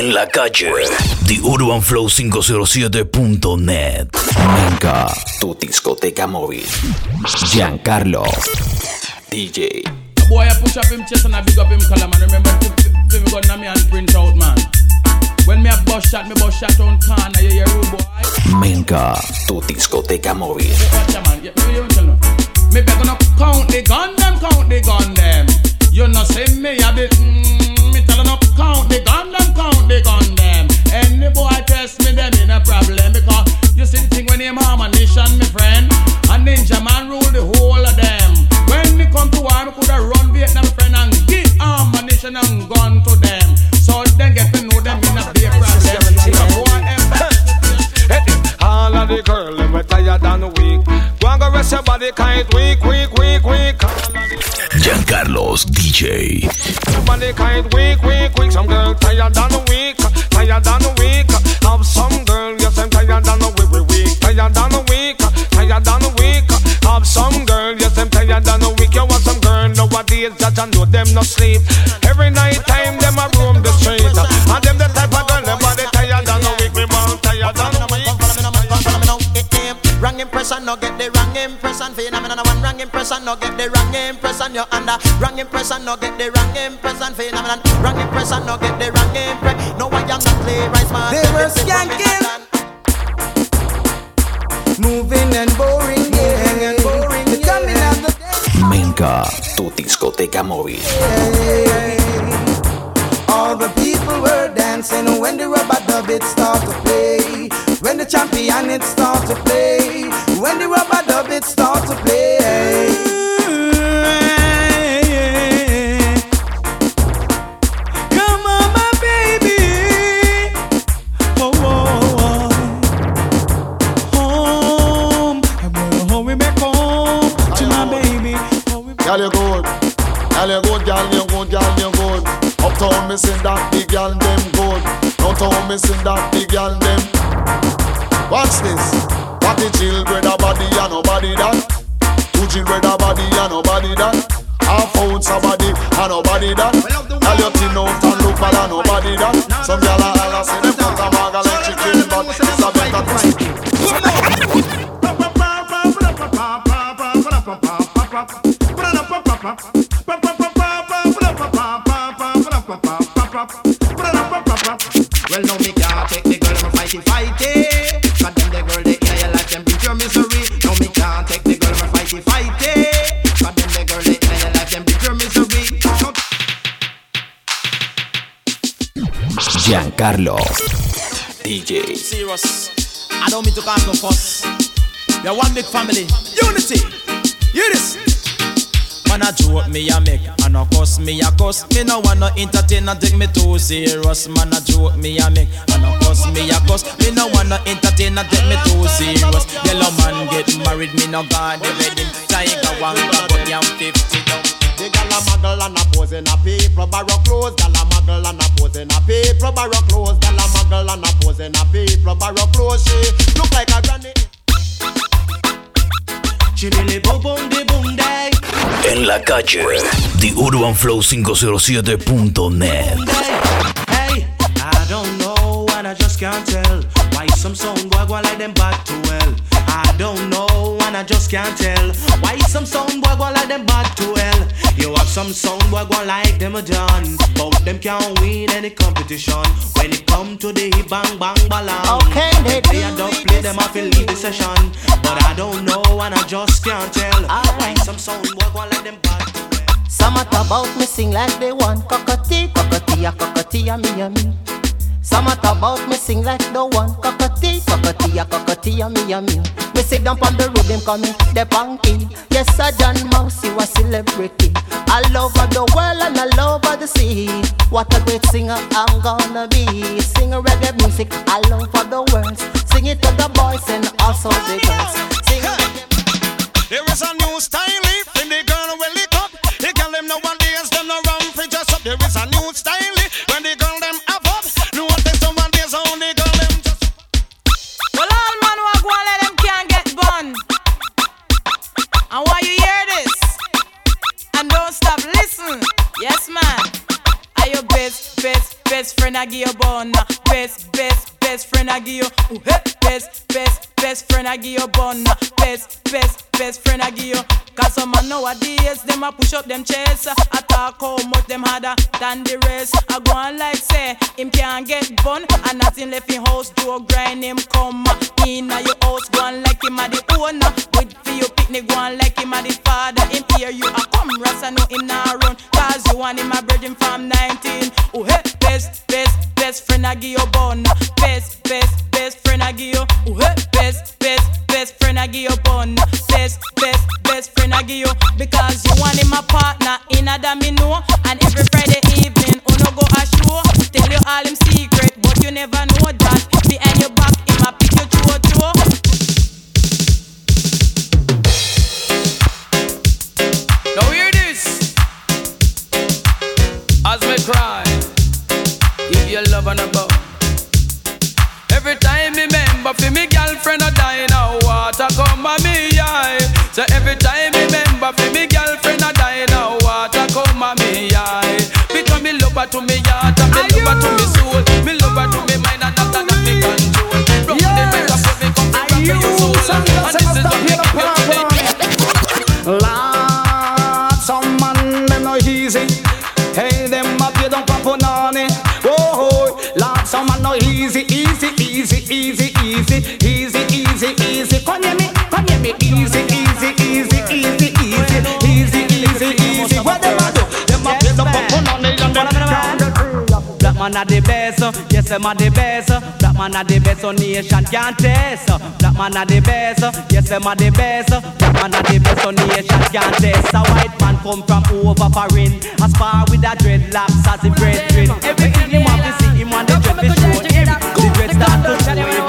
En la calle, TheUrbanFlow507.net. Menka, tu discoteca móvil. Giancarlo, DJ. Boy, I push up him chest and I big up him collar, man. Remember, if gun na me and print out, man. When me a bus shot on corner, yeah, rude boy. Menka, tu discoteca móvil. Watch ya, man. Me better not count the gun them. You know say me a bit, me tell her not count the gun them. Any boy test me, them in a problem. Because you see the thing when him ammunition, my friend. A ninja man rule the whole of them. When me come to war, me coulda run Vietnam, friend, and give ammunition and gun to them. So then get to know them in a big problem. All of the girls, them we tired and weak. Go and go rest your body, kind weak. Giancarlo's DJ. Your body kind weak. Some girl tired and weak. Have some girl, yes, I'm tired and weak. Tired and weak. Have some girl, yes, I'm tired and weak. You want some girl nowadays that I know them no sleep. Every night time them a roam the street. And them the type of girl, them body tired and weak. Me want tired and weak. Wrong impression, no get the wrong impression. Phenomenon one wrong impression, no get the wrong impression. You're under wrong impression, no get the wrong impression. Phenomenon wrong impression, no get the wrong impression. No, I am not playwright, man. They were skanking, moving and boring, The coming of the day. Menka, tu discoteca móvil. All the people were dancing when the rubber dub it start to play. When the champion it start to play. When the rubber dub it start to play. Come on, my baby. Home. I'm gonna home me back home to my baby. Girl, you good. Uptown me sing that the girl them good. Downtown me sing that the girl them. Watch this. What the chill brother body and nobody that. Two chill brother body and nobody that. Half out somebody and nobody that. Girl you thin out and look bad and nobody that. Some girl a holla say them cut a maga like chicken, but it's a better twist. Well, no, me can't take the girl, I'm fighting. Cause them the girl, they in your life, them bring your misery. No, me can't take the girl, I'm fighting. Cause them the girl, they in your life, them bring your misery. Giancarlo, DJ. Serious. I don't mean to cause no fuss. We're one big family. Unity. Hear this. Man a joke me a make, and a cuss me a cuss. Me no wanna entertain and take me too serious. Man a joke me a make, and a cuss me a cuss. Me no wanna entertain and take me too serious. Yellow man get married, me no got the wedding. Tiger one but I'm 50 down. The gal a muggle and a pose in a paper barrow clothes. Gal a muggle and a pose in a paper barrow clothes. Gal a muggle and a pose in a paper barrow clothes. She look like a granny. Chimili boom boom de boom day. En la calle, TheUrbanFlow507.net. Hey, I don't know and I just can't tell why some sound boy go like them bad too well. I don't know and I just can't tell why some sound boy go like them bad too well. You have some sound boy go like them a done, but them can't win any competition. When it come to the bang bang ballon, Okay, they don't play them off and leave the session. But I don't know and I just can't tell why some sound boy go like them bad too well. Some at about me sing like they want cockatee, me and me. Some at about me sing like the one cockatee, me and me. Me sit down on the rhythm coming, the punky. Yes, I John Mouse, you a celebrity. I love the world and I love the sea. What a great singer I'm gonna be. Sing reggae music, I love for the words. Sing it to the boys and also the girls. Sing reggae. There is a new style in the girl will lick up. The girl them nowadays them no run for just up. There is a new style when the girl them have up. No one takes nowadays on the girl them just. Well, all man who go and let them can't get bun. And why you hear this? And don't stop listen. Yes, man. Are your best friend? friend I give you bun. Best friend I give you. Ooh, hey. Best friend I give you bun. Best friend I give you. Cause some man nowadays, them a push up them chest. I talk how much them harder than the rest. I go on like say, him can't get bun. And nothing left in house, do a grind him come in your house, go on like him a the owner. With for your picnic, go on like him a the father. Him hear you a come, Rasta know him not run. Cause you want him a virgin from 19. Oh hey, best friend I give you bun. Best friend I give you. Oh hey, best friend I give you bun. Best friend I give you. Because you want him a partner in a domino. And every Friday evening, uno go a show. Tell you all him secret, but you never know that. Behind your back, him a pick your throat. Now hear this. As me cry, give your love and a bow. Every time me remember for me girlfriend a die now, water come a me eye. So every time me remember for me girlfriend a die now, water come a me eye. Because me love her to me heart and me love her to me soul. Me love her to me mind and after that me control. From the better for me come to rock your soul. And this is what me give you today. Lord, some man them no easy. Hey, them up you don't pop on it. Oh, Lord, some man no easy. Come hear me, easy. What them a do? Them a play the pop on it and them. Black man a the best, yes them a the best. Black man a the best, so nation can't test. Black man a the best, yes them a the best. Black man a the best, so nation can't test. A white man come from over foreign, a spar with a dreadlocks as the brethren. Everything him want to see, him want the dread to show him. The dread start to show him.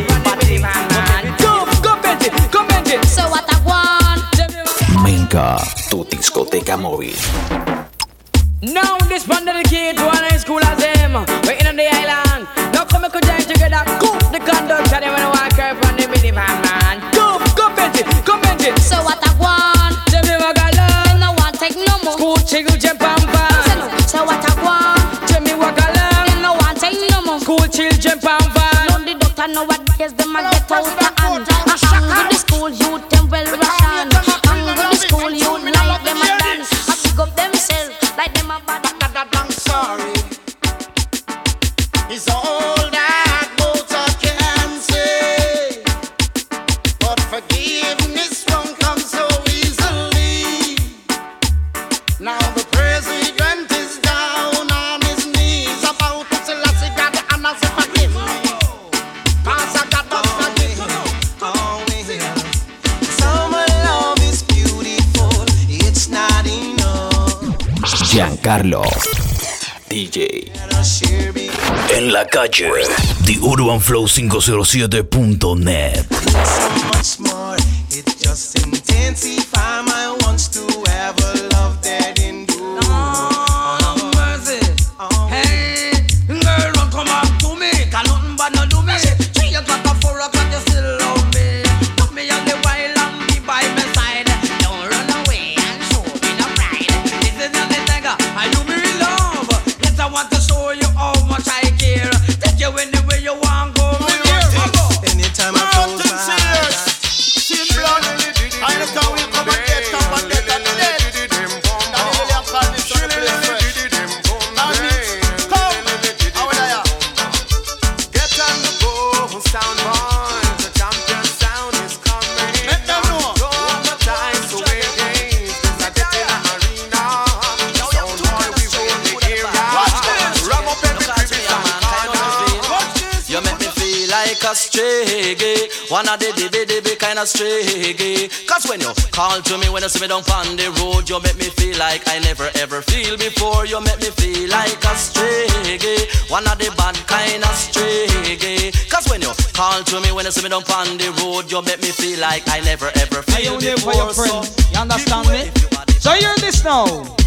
So what I want. Minka, tu discoteca móvil. Now this one dedicated to one high school as him. We're in on the island. Now come and join together. Cook the conduct and them when I walk out from the minivan man. Go Benji. So what I want. Them never got love. Them no want take no more. School chiggle jump and pan. So what I want. Them me walk along. Them no want take no more. School chill jump and pan. No the doctor know what is them a get out the hand. With the school youth them well ration. With the school youth like them a dance. I pick up themselves like them a bad. I'm sorry. It's all that water can say, but forgiveness won't come so easily. Now the president is down on his knees about to tell us he got the honors to forgive me. Cause I got to forgive me. Summer love is beautiful, it's not enough. Giancarlo DJ. En la calle, The Urban Flow 507.net. So much more, it just intensify my wants to ever love that endure. Oh, mercy. Hey, girl, don't come up to me. Cause nothing but no do me. 3 o'clock or 4 o'clock, you still love me. Put me on the wild and be by my side. Don't run away and show me no pride. This is not the tiger, I do me love. Yes, I want to show you how much I care. Take you anywhere you want, go. Anytime I close my eyes, I look how we come and get up and get up and get. Now you really have called this on the place fresh. Now me, come, how would I? Get on the go, sound boy. The champion sound is coming. Let them know. Go on the time to win games. This a get in the arena. Sound boy, we rule the area. Ram up every crevice and corner. You make me feel like a stray gay. One of the dibby kind of stray gay. Cause when you call to me, when you see me down on the road, you make me feel like I never ever feel before. You make me feel like a stray gay. One of the bad kind of stray gay. Cause when you call to me, when you see me down on the road, you make me feel like I never ever feel before. For your friend, you understand me? So hear this now.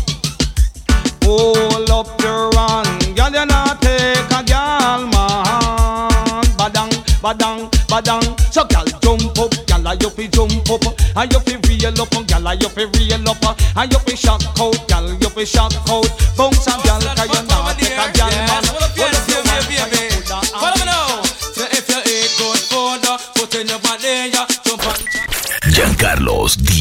Hold up your run, girl, you not take a girl, man. Badang. So girl, jump up, girl, you fi jump up. And you fi reel up, girl, you fi reel up. And you fi shock out, girl, you fi shock out. Bounce a girl, 'cause you not take a girl, man. Hold up your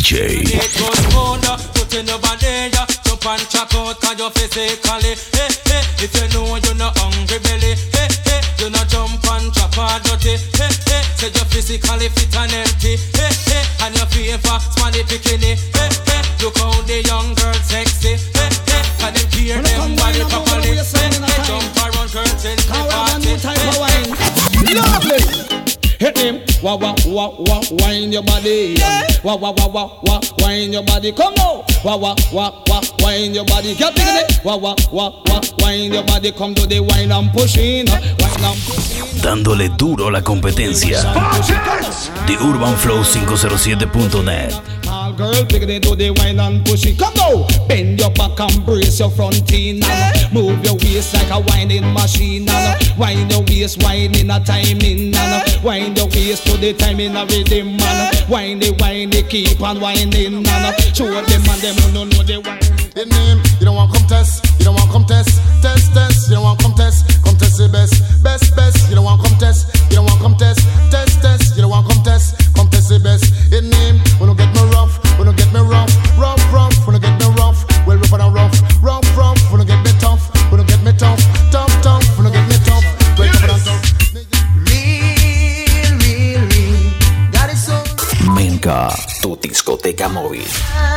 DJ. Put in your body, jump and check out, cause you're physically. Hey, hey, if you know you're not hungry belly. Hey, hey, you not jump and chop or dirty. Hey, hey, say you're physically fit and healthy. Hey, hey, and your favor, smelly bikini. Hey, hey, look how the young girl sexy. Hey, hey, and them care them body properly. Hey, hey, jump around curtains, the party. Lovely. Hit him, wah wah wah wah, wind your body. Wah wah wah wah wah, wind your body. Come now, wah wah wah wah, wind your body. Get it, wah wah wah wah, wind your body. Come to the wine and push in, wine and push in. Dándole duro a la competencia. The Urban Flow 507.net. All girl, pick it to the wine and push it. Come now, bend your back and brace your front in. Move your waist like a winding machine. Wind your waist, wind in a timing. Wind your waist to the time in a rhythm, man. Wind it, keep on winding, man. Show them and them who don't know the wine. The name, you don't want come test, you don't want come test, test, you don't want come test the best, you don't want come test, you don't want come test, you don't want come test the best. The name, when you get me rough, when you get me rough, when you get me rough, well rough and rough, when you get me tough, when you get me tough, when you get me tough, well rough and tough. Menka, tu discoteca móvil.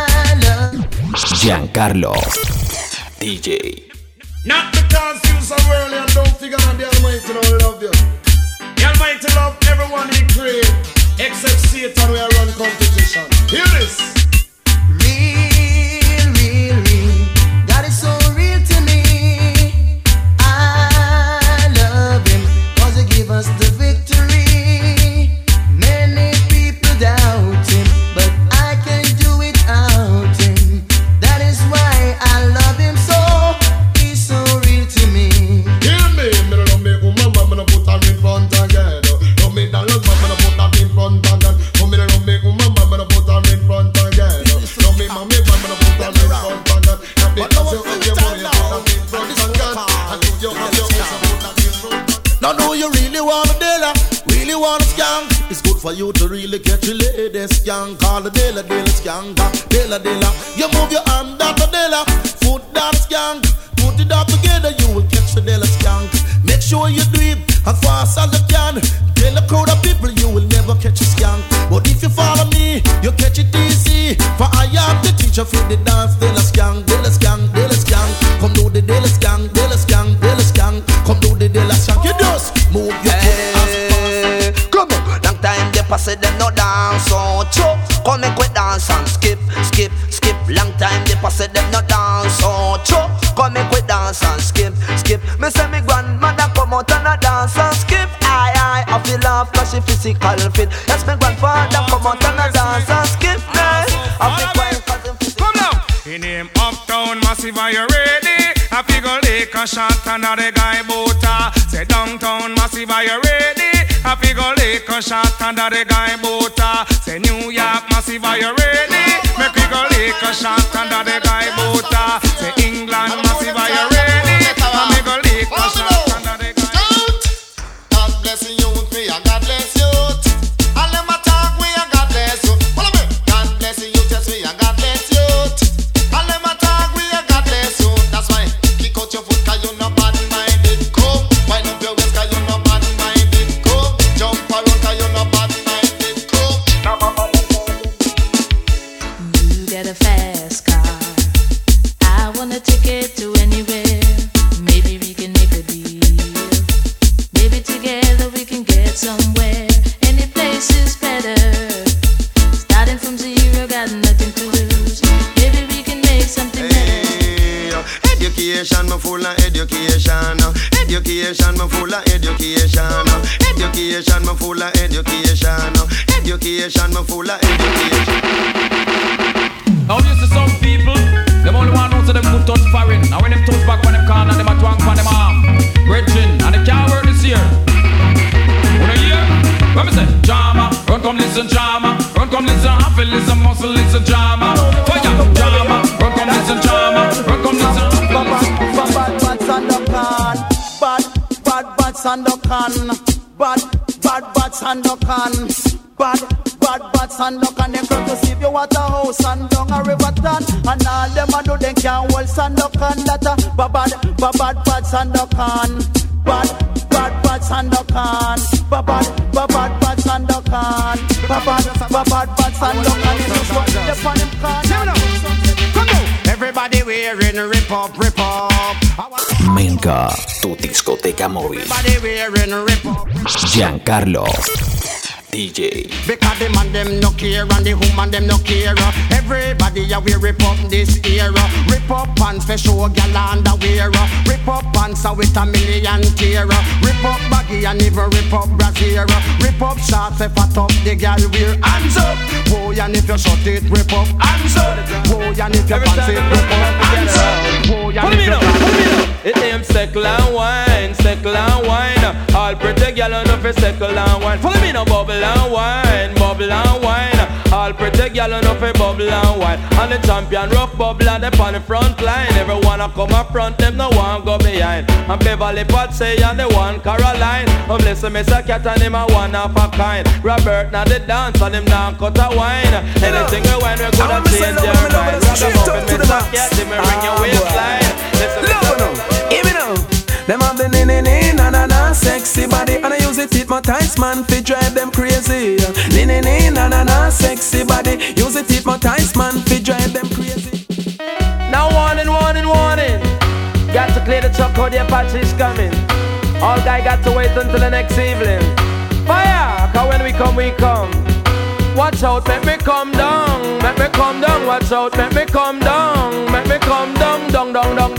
Giancarlo, DJ. Not because you so early and don't figure that the Almighty don't love you. The Almighty love everyone He create, except Satan where run competition. Hear this. Real, God is so real to me. I love Him, cause He give us the victory. Many people doubt Him, but I can do without Him. That is why I love Him so. He's so real to me. Hear me, me don't love me woman, but me don't put her in front again. Love me dollars, but me don't put her in front again. Me don't love me woman, but me don't put her in front again. Love me mommy, but me don't put her in front again. Now because you have your money, you put her in front again. And if you have your money, put her in front again. Now know you really want a dealer, really want a skank. It's good for you to really catch a lady skank. Call the dealer skank, dealer. You move your arm down the dealer, foot down skank. Put it all together, you will catch the dealer skank. Make sure you do it as fast as you can. Tell a crowd of people you will never catch a skank. But if you follow me, you catch it easy. For I am the teacher for the dance, dealer skank. Come do the dealer skank. Come do the dealer skank. You just move your foot as fast. Come on, long time they pass it, them no dance. So choke, come make we dance and skip. Long time they pass it, them no dance. So choke, come make we dance and skip. Me say me grandmother come out and a dance and skip. I feel laugh cause she physical fit. Yes, me grandfather come out and a dance and skip. I feel quiet cause him physical. Come now. In him uptown massive, are you ready? I figure lick a shot and the guy boota. Say downtown massive, are you ready? I figure lick a shot and the guy boota. Say New York massive, are you ready? Make we go lick a shot and the guy boota. Say England massive, are you ready? I make go lick a shot and the guy. God bless you, me and God bless you. And let my talk, we and God bless you. Follow me. God bless you, just me and God bless you. And let my talk, we and God bless you. That's why kick out your foot 'cause you no bad minded. Come, wind up your waist 'cause you no bad minded. Come, jump around 'cause you no bad minded. Come. You got a fast car. I wanna take it to anywhere. Maybe we can make a deal. Maybe together we can get somewhere. Any place is better. Starting from zero, got nothing to lose. Maybe we can make something better. Education, me full of education. Education, me full of education. Education, me full of education. Education, me full of education. Now you see some people, them only want to know so them good touch foreign. Now when them touch back on them corner, them a twang on them arm. Brethren, and they can't work this year. Wanna hear? When me say, drama, run come listen drama. Run come listen, happy listen, muscle listen drama. Fire, drama, run come listen drama. Run come listen. Bad Sandokan. Bad Sandokan. Bad stand up and them come to see you at a house and down a river town. And all them a do them can't hold stand up and that a bad stand up and bad stand up and bad stand up and bad stand up and you just watch the fun him can. Everybody wearing rip up. Menka, tu discoteca móvil. Everybody wearing rip up. Giancarlo DJ. Because the man them no care and the woman them no care. Everybody a we rip up this era. Rip up pants for show gyal underwear. Rip up pants with a million tear. Rip up baggy and even rip up brassiere. Rip up shorts for fat up the gyal wear. Hands up, boy, and if you shut it, rip up. Hands up, boy, and if you pants it, rip up. Hands up, boy, and if you. It name Seckle and Wine. All pretty gyal on the Seckle and Wine. Follow me now, bubble and wine. All pretty gyal on the bubble and wine. And the champion rough bubble and they on the front line. Everyone a come up front, them no one go behind. And Beverly Pat say and the one Caroline. Listen, Mr. Cat and him a one of a kind. Robert now the dance and him now cut a wine. Anything we wine we gonna change their mind. Rock them up and Mr. Cat, they me ring your waistline. Listen, give me now. Them have the na sexy body and I use it hypnotize man fi drive them crazy. Na sexy body, use it hypnotize man fi drive them crazy. Now warning. Got to clear the truck, how the Apache is coming. All guy got to wait until the next evening. Fire, cause when we come. Watch out, make me come down. Watch out, make me come down. Dong.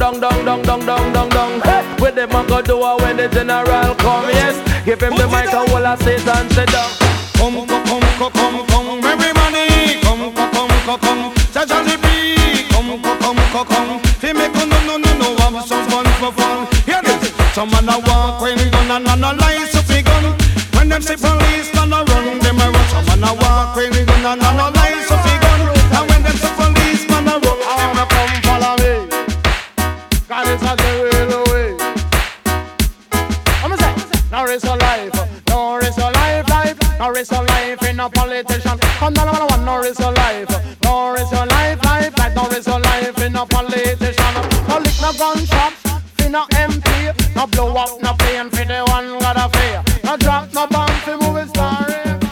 Hey, with them I go do when the general come. Yes, give him the mic and all I say and sit down. Come, everybody, come. Sajali B, come. Fi make no, have some fun. Hear this, some man a walk when we gun and analyze so fi gun. When them say police man a run, them a run. Some man a walk when we gun and analyze so fi gun. And when them say police man a run, them a come follow me. 'Cause it's a the real way. I'm say, now risk your life. No risk your in a politician. Come down one, no risk your life. No risk your life, like no risk your life in a politician. No lick no gunshot, fi no MP. No blow up, no plane for the one got a fear. No drop, no bomb fi movie star.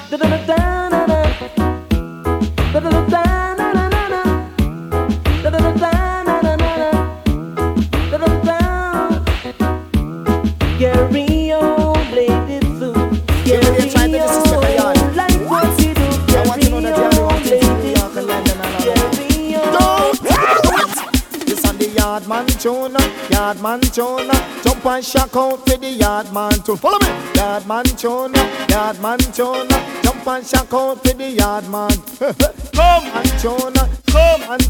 Yardman tune, jump and shock out for the yardman tune. Follow me. Yardman tune, jump and shock out for the yardman. Come.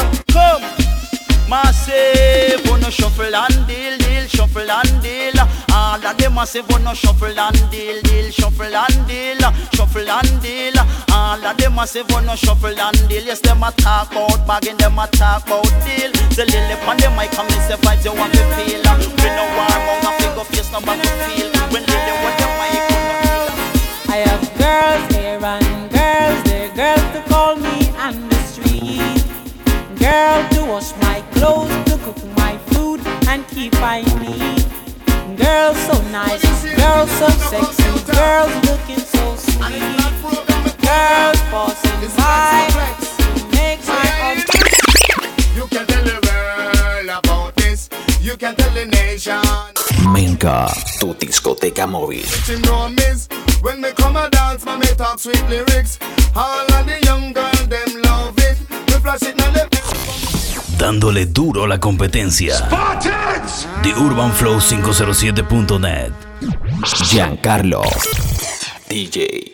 Massive, wanna shuffle and deal, shuffle and deal. All of them massive, wanna shuffle and deal, shuffle and deal. All of them massive, wanna shuffle and deal. Yes, them a talk about bagging, them a talk about deal. The lily on the mic come and say vibes you want to feel. We no warm on a figure face, no back to feel. When lily on the mic come I have girls here and girls there, girls to call me on the street. Girl to wash my clothes, to cook my food and keep I neat. Girls so nice, girls so sexy, girls looking so sweet. Girls passing by, make my heart. You can tell the world about this. You can tell the nation. Menka, tu discoteca móvil. When me come a dance, me talk sweet lyrics. All of the young girls them love it. Me flash it now them. Dándole duro a la competencia. De UrbanFlow507.net. Giancarlo DJ.